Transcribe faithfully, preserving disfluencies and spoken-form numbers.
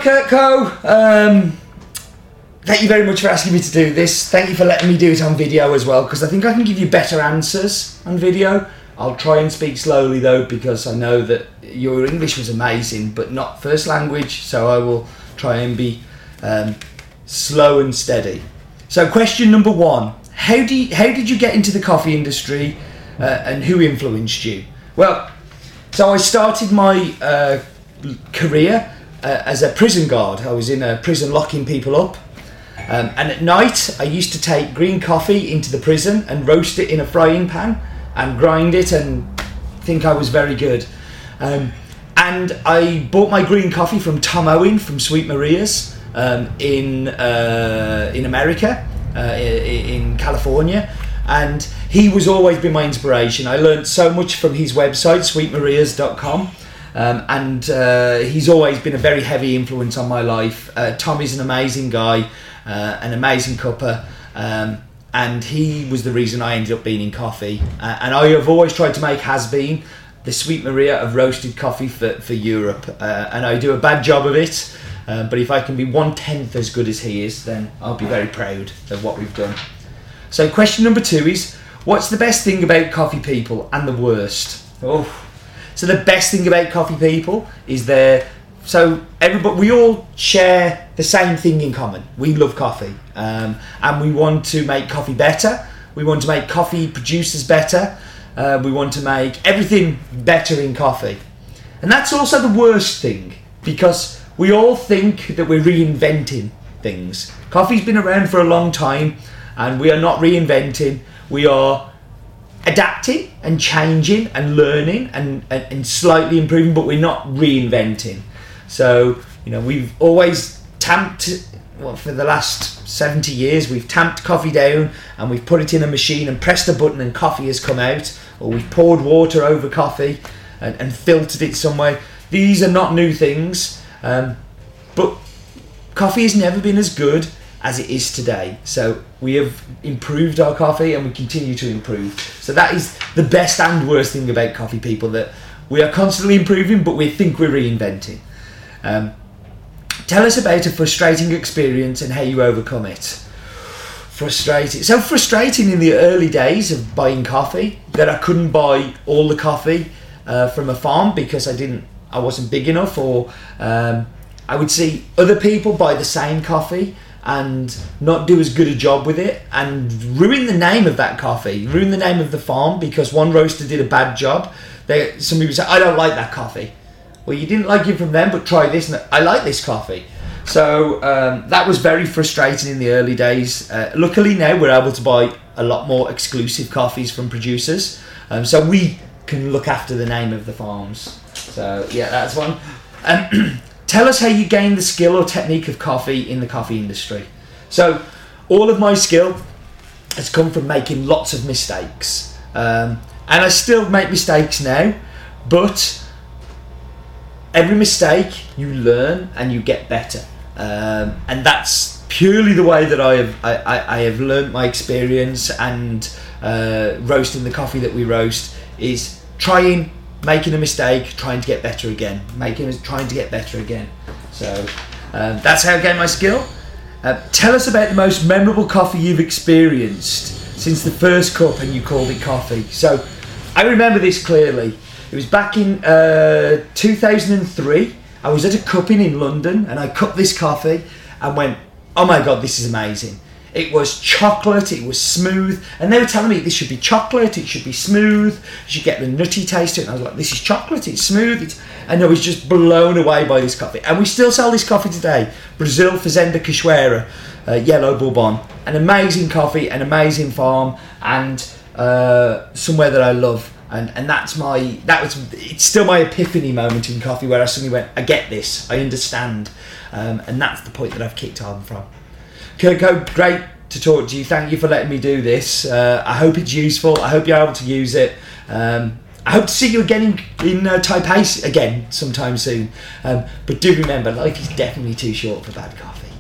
Kurt Co. Um, thank you very much for asking me to do this. Thank you for letting me do it on video as well, because I think I can give you better answers on video. I'll try and speak slowly though, because I know that your English was amazing, but not first language, so I will try and be um, slow and steady. So question number one, how, do you, how did you get into the coffee industry uh, and who influenced you? Well, so I started my uh, career uh, as a prison guard. I was in a prison locking people up. Um, and at night, I used to take green coffee into the prison and roast it in a frying pan and grind it and think I was very good. Um, and I bought my green coffee from Tom Owen from Sweet Maria's um, in uh, in America, uh, in California. And he was always been my inspiration. I learned so much from his website, sweet marias dot com. Um, and uh, he's always been a very heavy influence on my life. Uh, Tom is an amazing guy, uh, an amazing cupper. Um, and he was the reason I ended up being in coffee. Uh, and I have always tried to make Has Been the Sweet Maria of roasted coffee for, for Europe. Uh, and I do a bad job of it. Uh, but if I can be one-tenth as good as he is, then I'll be very proud of what we've done. So question number two is, what's the best thing about coffee people and the worst? Oh. So the best thing about coffee people is they're, so everybody, we all share the same thing in common. We love coffee, um, and we want to make coffee better. We want to make coffee producers better. Uh, we want to make everything better in coffee. And that's also the worst thing, because we all think that we're reinventing things. Coffee's been around for a long time, and we are not reinventing. We are adapting and changing and learning and, and, and slightly improving, but we're not reinventing. So, you know, we've always tamped, well, for the last seventy years, we've tamped coffee down and we've put it in a machine and pressed a button and coffee has come out, or we've poured water over coffee and, and filtered it some way. These are not new things, um, but coffee has never been as good as it is today. So we have improved our coffee and we continue to improve. So that is the best and worst thing about coffee people, that we are constantly improving, but we think we're reinventing. Um, tell us about a frustrating experience and how you overcome it. Frustrating. So frustrating in the early days of buying coffee, that I couldn't buy all the coffee uh, from a farm because I didn't, I wasn't big enough, or um, I would see other people buy the same coffee and not do as good a job with it and ruin the name of that coffee, ruin the name of the farm because one roaster did a bad job. They, some people say, I don't like that coffee. Well, you didn't like it from them, but try this. And I like this coffee. So um, that was very frustrating in the early days. Uh, luckily now we're able to buy a lot more exclusive coffees from producers. Um, so we can look after the name of the farms. So yeah, that's one. Um, Tell us how you gain the skill or technique of coffee in the coffee industry. So all of my skill has come from making lots of mistakes. Um, and I still make mistakes now, but every mistake you learn and you get better. Um, and that's purely the way that I have, I, I, I have learned my experience, and uh, roasting the coffee that we roast is trying, making a mistake, trying to get better again, making, trying to get better again. So um, that's how I gain my skill. Uh, tell us about the most memorable coffee you've experienced since the first cup and you called it coffee. So I remember this clearly. It was back in uh, two thousand three. I was at a cupping in London and I cupped this coffee and went, oh my God, this is amazing. It was chocolate, it was smooth, and they were telling me this should be chocolate, it should be smooth, you should get the nutty taste to it, and I was like, this is chocolate, it's smooth, it's... and I was just blown away by this coffee. And we still sell this coffee today, Brazil Fazenda Cachoeira, uh, Yellow Bourbon, an amazing coffee, an amazing farm, and uh, somewhere that I love, and and that's my, that was, it's still my epiphany moment in coffee, where I suddenly went, I get this, I understand, um, and that's the point that I've kicked on from. Kurt Co, great to talk to you. Thank you for letting me do this. Uh, I hope it's useful. I hope you're able to use it. Um, I hope to see you again in, in uh, Taipei again sometime soon. Um, but do remember, life is definitely too short for bad coffee.